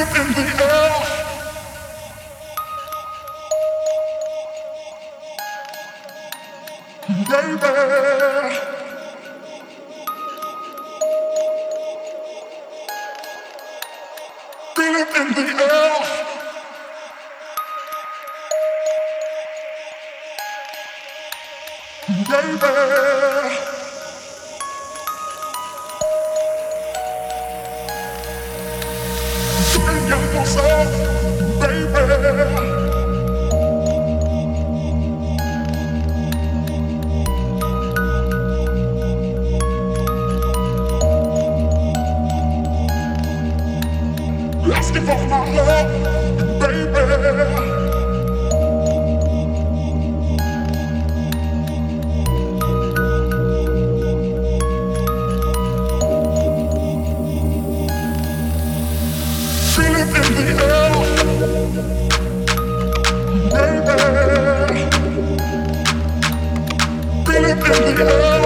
Asking for my love, baby. Feel it in the air, baby. Feel it in the air,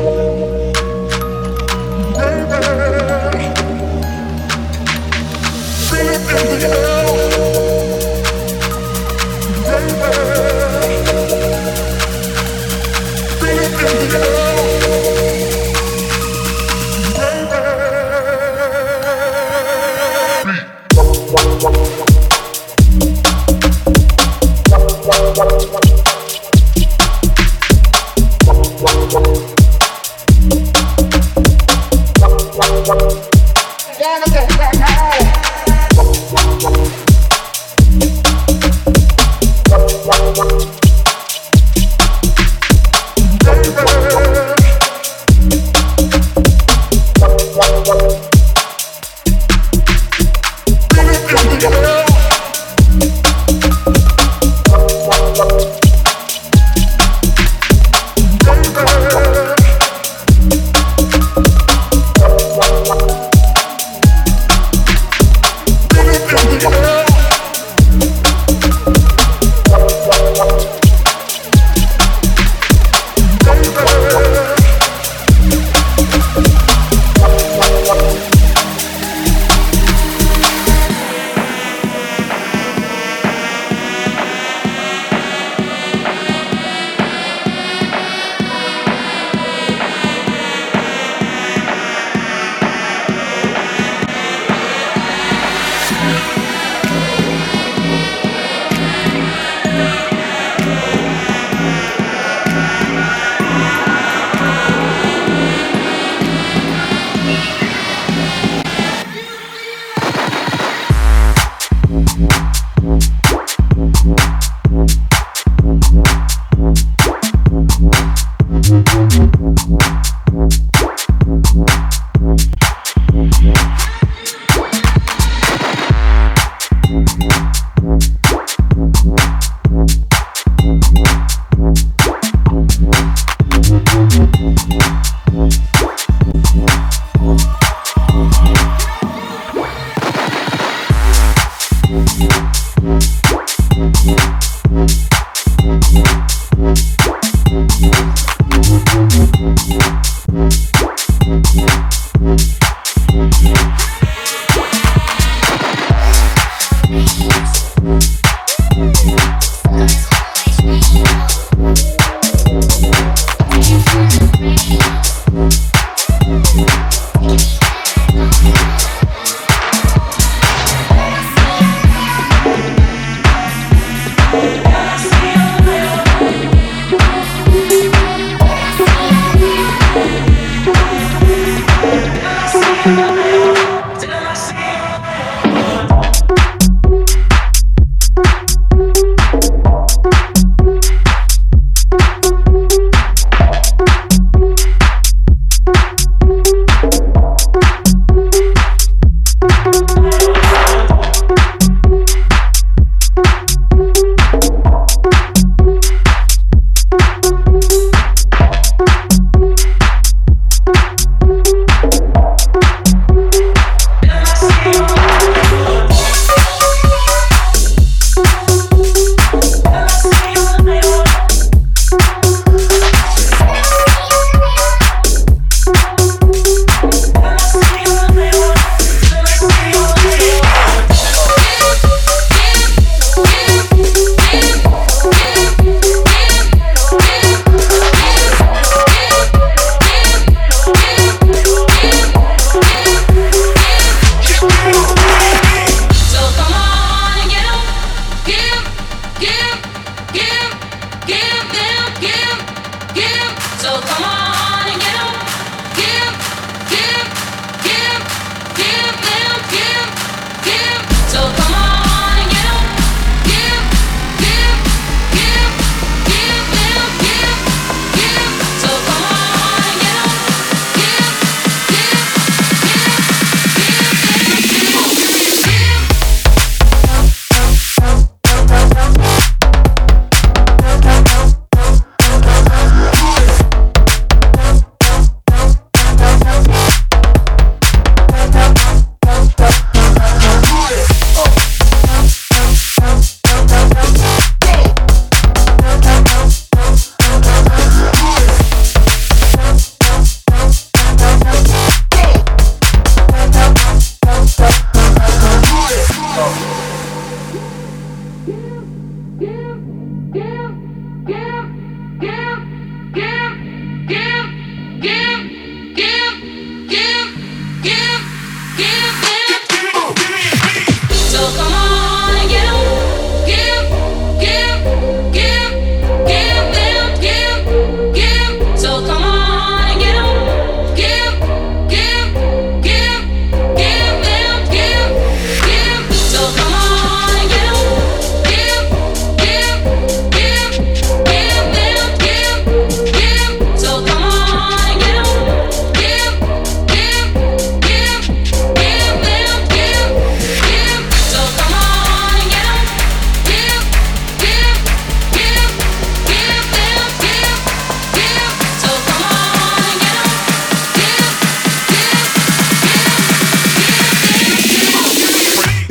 baby. Feel it in the air, baby. Feel it in the air.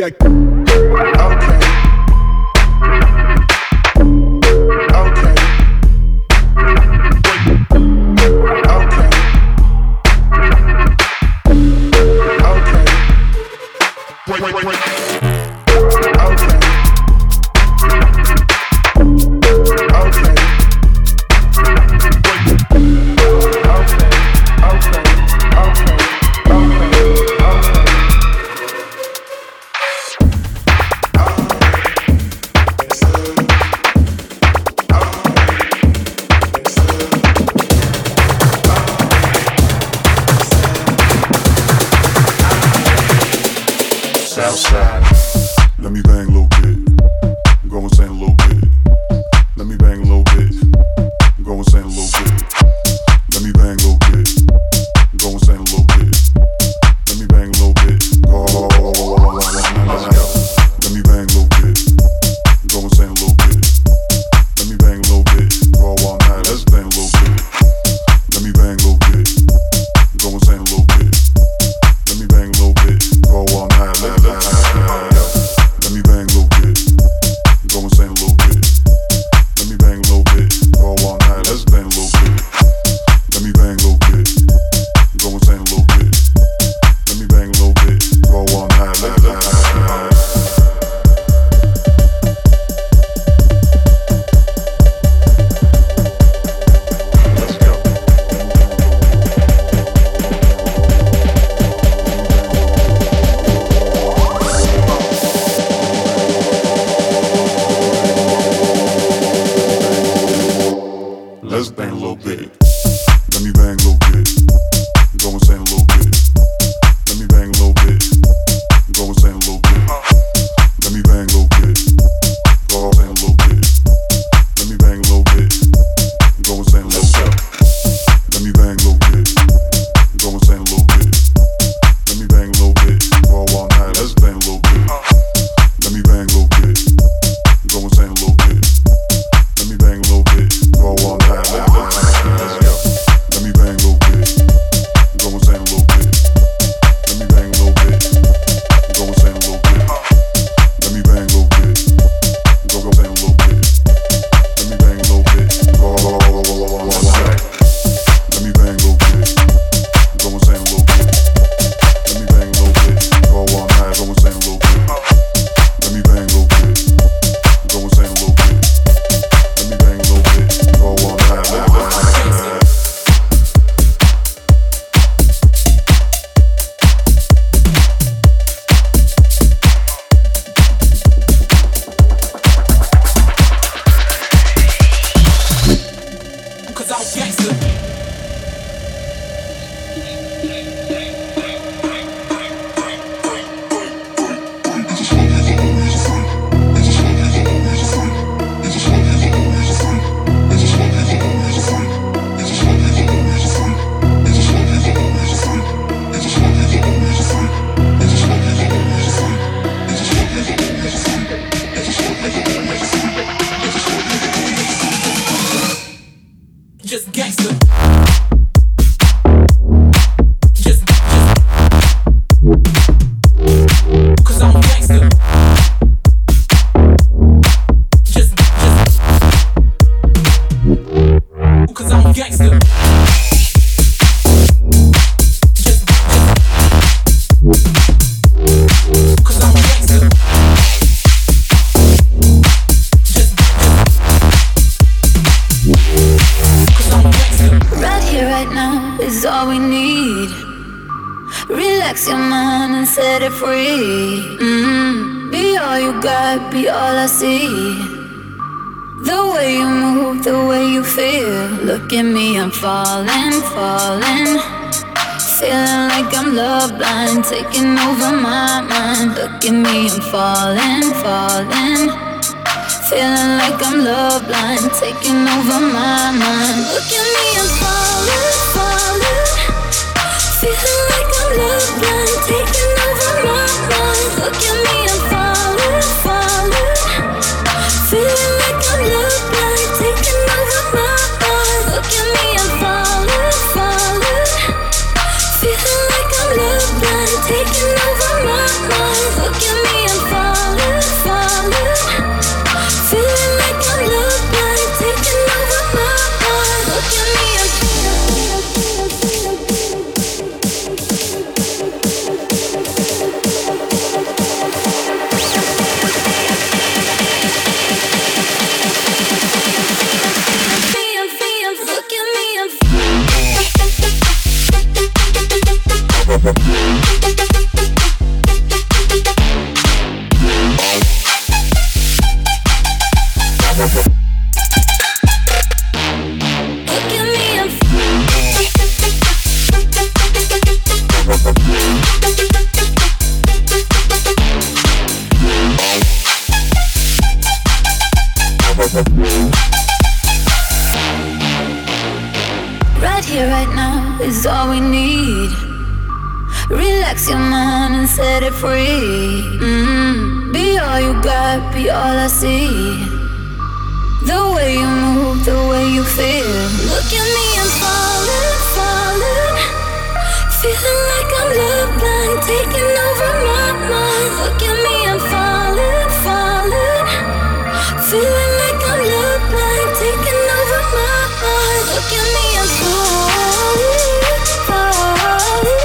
that. Falling, falling, feeling like I'm love blind, taking over my mind. Look at me, I'm falling, falling, feeling like I'm love blind, taking over my mind. Look at me, I'm falling, falling, feeling like I'm love blind, taking over my mind. Look at me, I'm falling, falling, feeling like I'm love blind, taking over my mind. Look at me, I'm falling, falling, feeling like I'm love blind, taking over my mind. Look at me, I'm now is all we need. Relax your mind and set it free. Be all you got, be all I see. The way you move, the way you feel. Look at me, I'm falling, falling. Feeling like I'm love blind, taking over my mind. Look at me, I'm falling, falling. Feeling like I'm love blind, taking over my mind. Look at me, I'm falling, falling.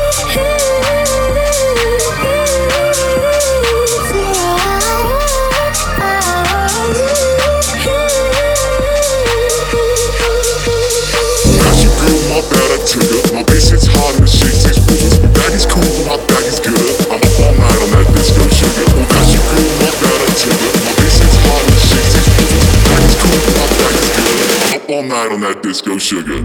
My bad, I took it. My bass hits hard and the shakes these rivers. My bag is cool, but my bag is good. I'm up all night on that disco sugar. Oh, gosh, you cool, my bad, I took it. My bass hits hard and the shakes these rivers. My bag is cool, but my bag is good. I'm up all night on that disco sugar.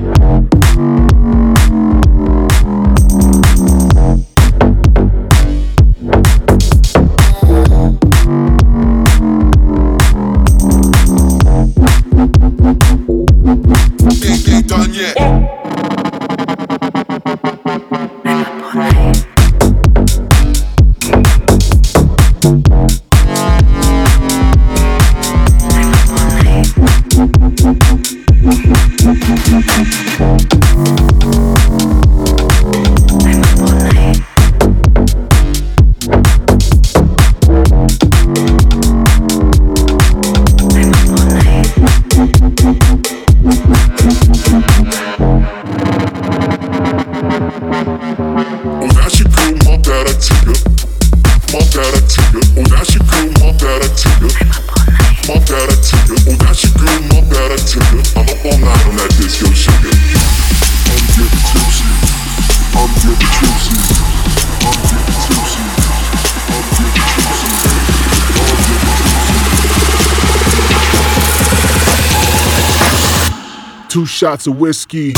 Ain't done yet. Two shots of whiskey.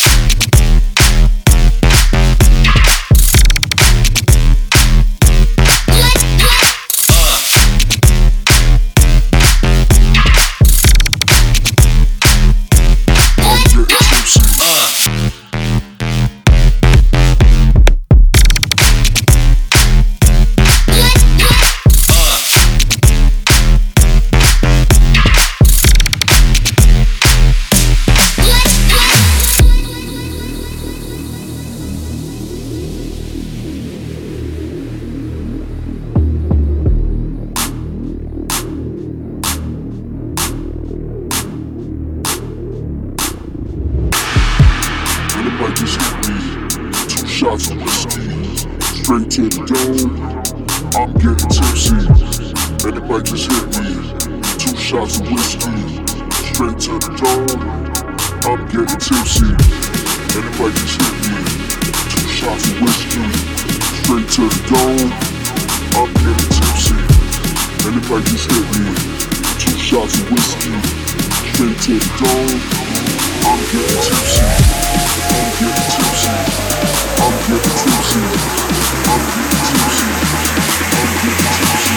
Anybody just hit me. 2 shots of whiskey, straight to the dome. I'm getting tipsy. Anybody just hit me. 2 shots of whiskey, straight to the dome. I'm getting tipsy. Anybody just hit me. 2 shots of whiskey, straight to the dome. I'm getting tipsy. Anybody just hit me. 2 shots of whiskey, straight to the dome. I'm getting tipsy. I'm getting tipsy. I'm getting tipsy. I'm getting tipsy. I'm getting tipsy.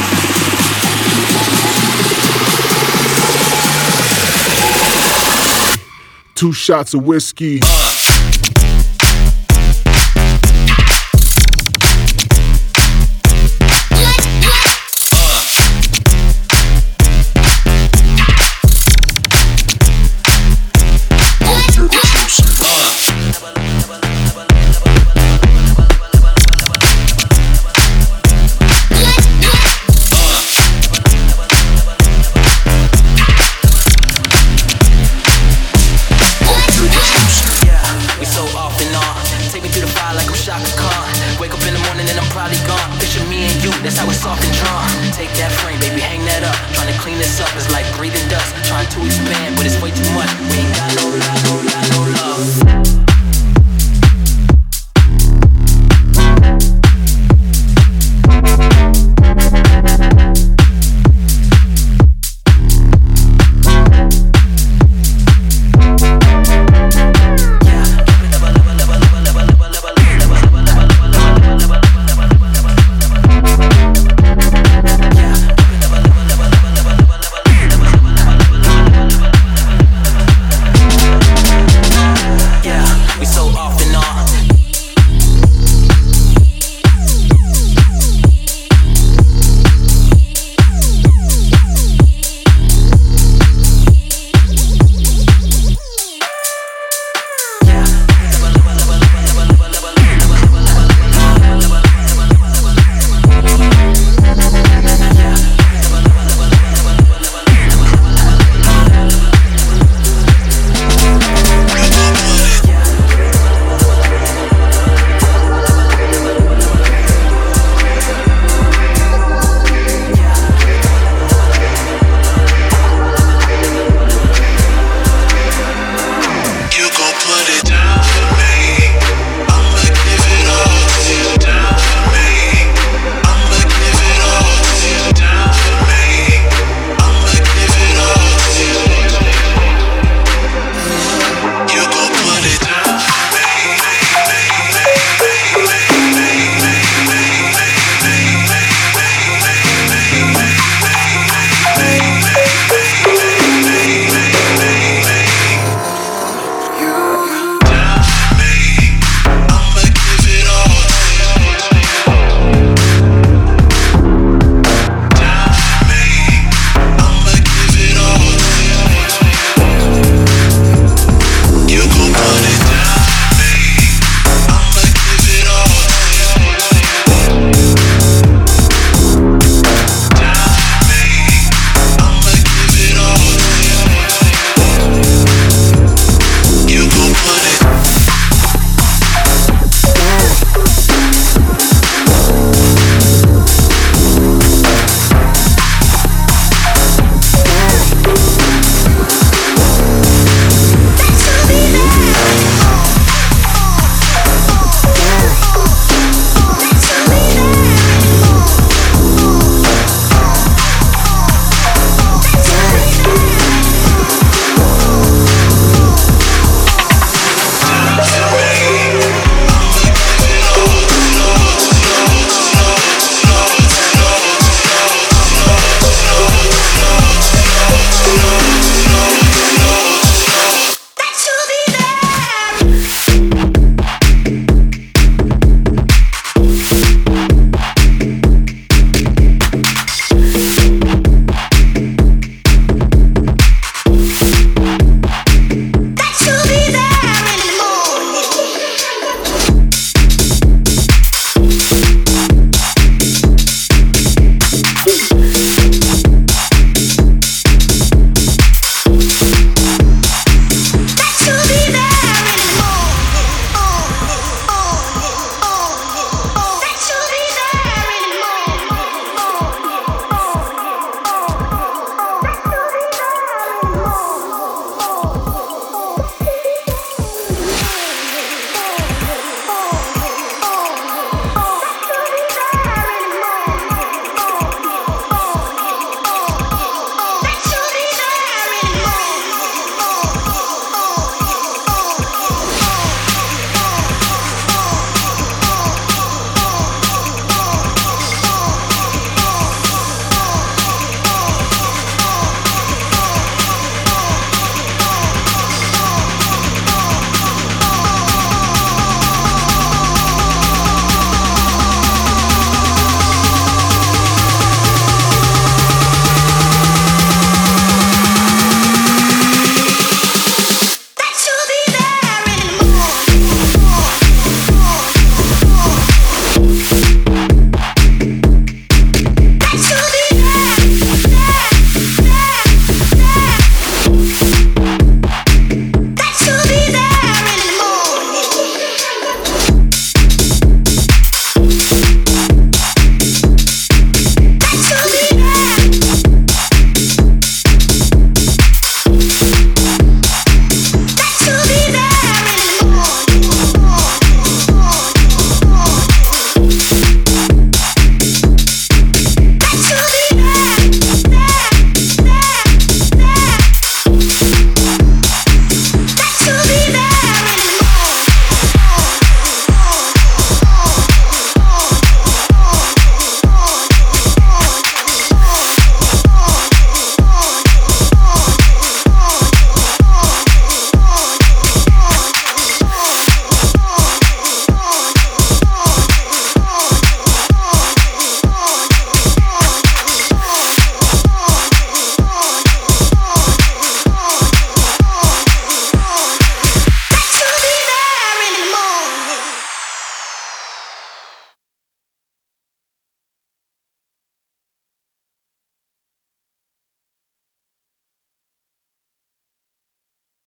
Two shots of whiskey. That's how it's often drawn. Take that frame, baby, hang that up. Trying to clean this up is like breathing dust. Trying to expand, but it's way too much. We ain't got no love, no love, no love.